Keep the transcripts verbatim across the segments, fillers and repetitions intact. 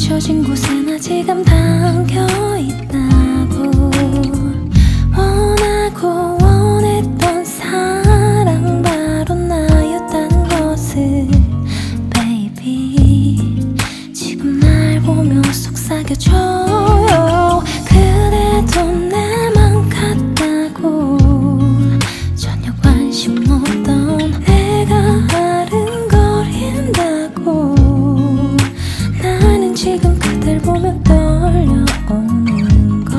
잊혀진 곳에 나 지금 담겨있다고. 원하고 원했던 사랑 바로 나였다는 것을 baby 지금 날 보며 속삭여줘요. 그래도 내 맘 같다고 전혀 관심 없던 내가 아른거린다고. 나는 지금 그댈 보며 떨려오는 걸,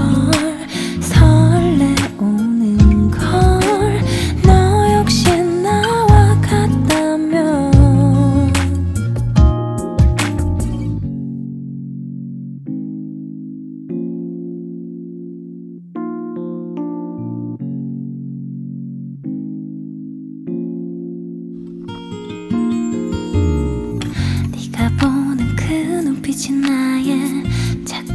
설레오는 걸. 너 역시 나와 같다면 네가 보는 그 눈빛이 나의 작